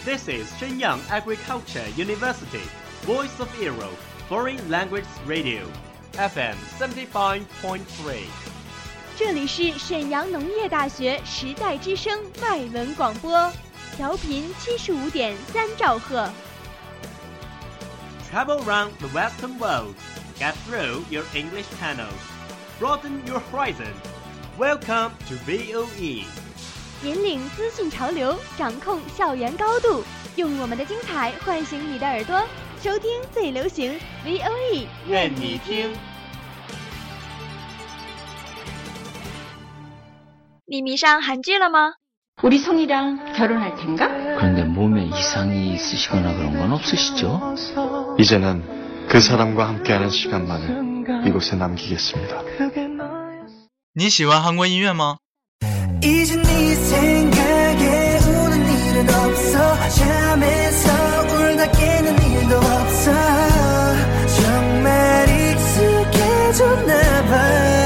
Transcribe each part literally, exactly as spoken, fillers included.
This is Shenyang Agriculture University, Voice of Europe, Foreign Language Radio, F M seventy-five point three。 这里是沈阳农业大学时代之声外文广播，调频七十五点三兆赫。 Travel around the Western world, get through your English channels, broaden your horizon. Welcome to V O E。 引领资讯潮流，掌控校园高度，用我们的精彩唤醒你的耳朵，收听最流行 V O E， 愿你听。你迷上韩剧了吗？ 우리 성이랑 결혼할 텐가? 그런데 몸에 이상이 있으시거나 그런 건 없으시죠? 이제는 그 사람과 함께하는 시간만을 이곳에 남기겠습니다. 你喜欢韩国音乐吗？ 이제 네 생각에 우는 일은 없어 잠에서 울다 깨는 일도 없어 정말 익숙해졌나 봐。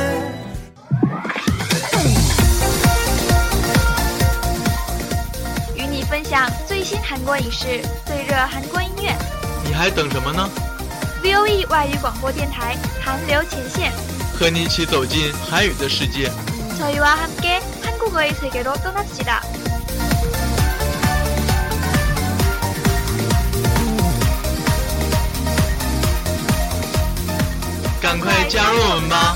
与你分享最新韩国影视、最热韩国音乐。 你还等什么呢 ？V O E 外语广播电台韩流前线， 和你一起走进韩语的世界。 저희와 함께 한국어의 세계로 떠납시다. 赶快加入我们吧！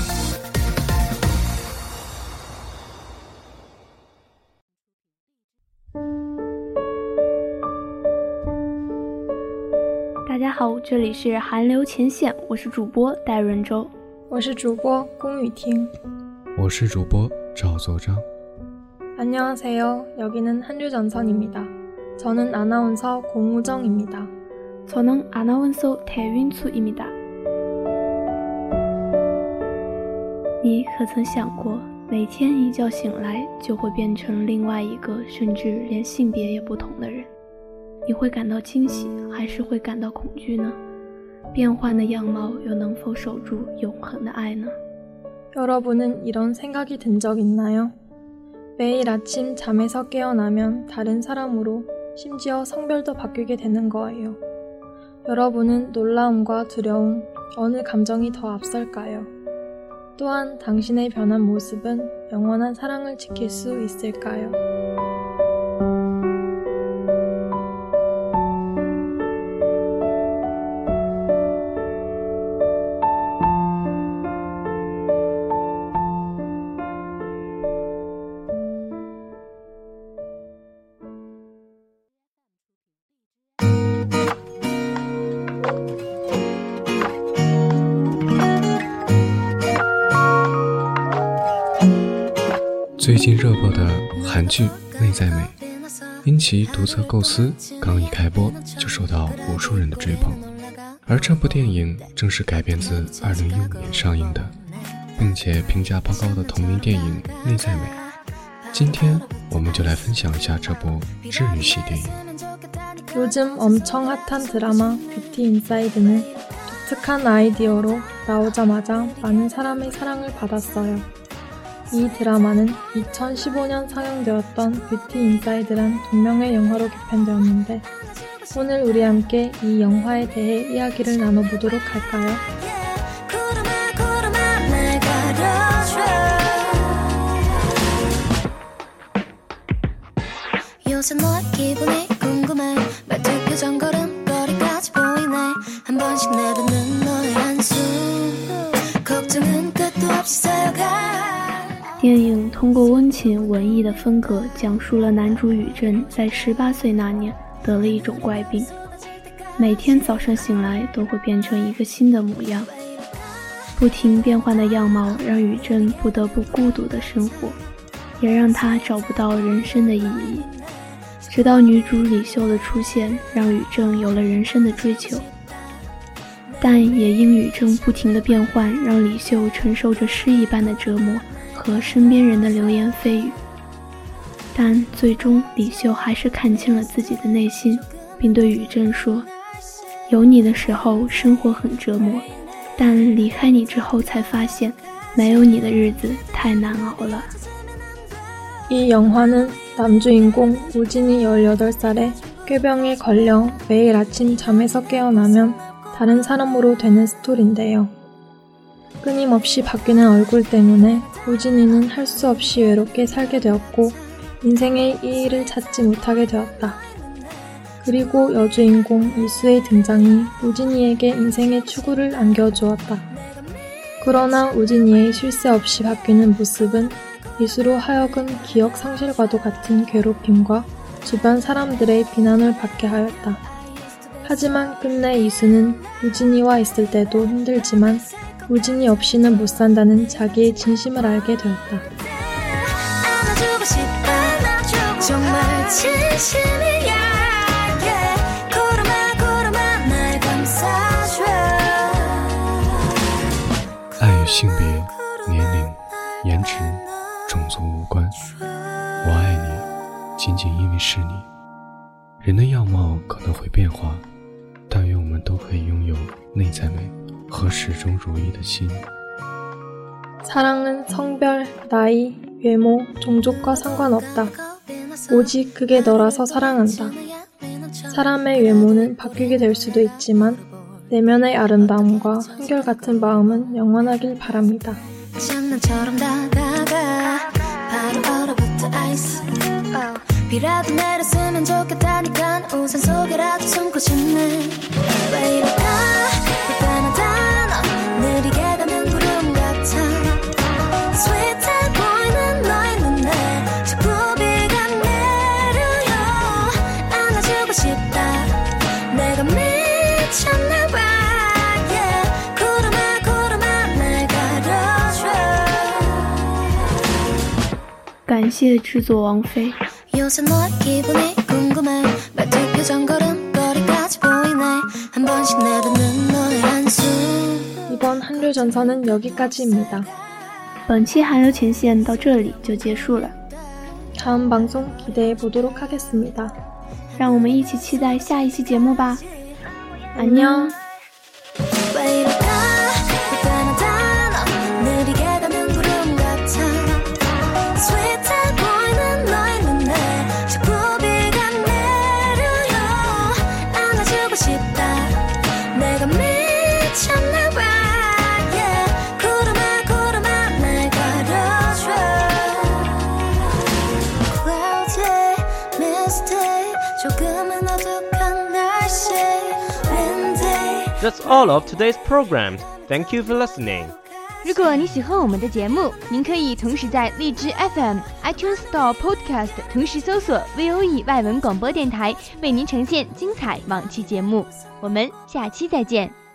大家好，这里是韩流前线，我是主播戴润洲， 我是主播龚雨婷。 我是主播赵作章。 안녕하세요. 여기는 한류전선입니다. 저는 아나운서 공우정입니다. 저는 아나운서 태윤수입니다. 你可曾想过，每天一觉醒来就会变成另外一个，甚至连性别也不同的人？你会感到惊喜，还是会感到恐惧呢？变换的样貌又能否守住永恒的爱呢？ 여러분은 이런 생각이 든 적 있나요? 매일 아침 잠에서 깨어나면 다른 사람으로, 심지어 성별도 바뀌게 되는 거예요. 여러분은 놀라움과 두려움, 어느 감정이 더 앞설까요? 또한 당신의 변한 모습은 영원한 사랑을 지킬 수 있을까요? 最近热播的韩剧《内在美》，因其独特构思，刚一开播就受到无数人的追捧。而这部电影正是改编自二零一五年上映的，并且评价颇高的同名电影《内在美》。今天我们就来分享一下这部治愈系电影。 요즘 엄청 핫한 드라마 뷰티 인사이드는 독특한 아이디어로 나오자마자 많은 사람의 사랑을 받았어요. 이 드라마는 이천십오 년 상영되었던 뷰티 인사이드란 동명의 영화로 개편되었는데 오늘 우리 함께 이 영화에 대해 이야기를 나눠보도록 할까요? 요새 너의 기분이 궁금해 말투 표정 걸음걸이까지 보이네 한 번씩 내뱉는 너의 한숨 걱정은 끝도 없이 쌓여가 电影通过温情文艺的风格，讲述了男主宇正在十八岁那年得了一种怪病，每天早上醒来都会变成一个新的模样。不停变换的样貌让宇正不得不孤独的生活，也让他找不到人生的意义。直到女主李秀的出现，让宇正有了人生的追求，但也因宇正不停的变换，让李秀承受着失忆般的折磨和身边人的流言蜚语。但最终李秀还是看清了自己的内心，并对宇正说，有你的时候生活很折磨，但离开你之后才发现没有你的日子太难熬了。 이 영화는 남주인공 우진이 열여덟 살에 꾀병에 걸려 매일 아침 잠에서 깨어나면 다른 사람으로 되는 스토리인데요. 끊임없이 바뀌는 얼굴 때문에 우진이는 할 수 없이 외롭게 살게 되었고 인생의意义를 찾지 못하게 되었다. 그리고 여주인공 이수의 등장이 우진이에게 인생의 추구를 안겨주었다. 그러나 우진이의 쉴 새 없이 바뀌는 모습은 이수로 하여금 기억 상실과도 같은 괴롭힘과 주변 사람들의 비난을 받게 하였다. 하지만 끝내 이수는 우진이와 있을 때도 힘들지만 우진이 없이는 못 산다는 자기의 진심을 알게 되었다. 안아주고 싶다 정말 진심이야 고르마 고르마 날 감싸줘 爱与性别、年龄、颜值、种族无关，我爱你仅仅因为是你。人的样貌可能会变化，但愿我们都可以拥有内在美和始终如一的心。 사랑은 성별, 나이, 외모, 종족과 상관없다. 오직 그게 너라서 사랑한다. 사람의 외모는 바뀌게 될 수도 있지만 내면의 아름다움과 한결같은 마음은 영원하길 바랍니다. 장난처럼 다가가 바로 얼어붙어 아이스 비라도 내렸으면 좋겠다니까 우산 속에라도 숨고 싶네 왜 이럴까 불편하다 너 느리게 가는 구름 같아 스윗해 보이는 너의 눈에 자꾸 비가 내려요 안아주고 싶다 내가 미쳤나 봐 yeah. 구름아 구름아 날 가려줘 感谢制作王菲。 요새 너의 기분이 궁금해 말투 표정 걸음걸이까지 보이네 한 번씩 내뱉는 너의 한숨 이번 한류 전선은 여기까지입니다. 本期韩流前线到这里就结束了， 다음 방송 기대해 보도록 하겠습니다. 让我们一起期待下一期节目吧。 안녕。 왜 이럴까 불편하다 너 느리게 가는 구름 같아 스윗해 보이는 너의 눈에 자꾸 비가 내려요 안아주고 싶다 내가 미쳤나 봐 yeah. 구름아 구름아 날 가려줘 Cloudy, misty 조금은 어둑한 날씨 windy That's all of today's program. Thank you for listening. 如果你喜欢我们的节目，您可以同时在荔枝 F M、iTunes Store Podcast 同时搜索 V O E 外文广播电台，为您呈现精彩往期节目。我们下期再见。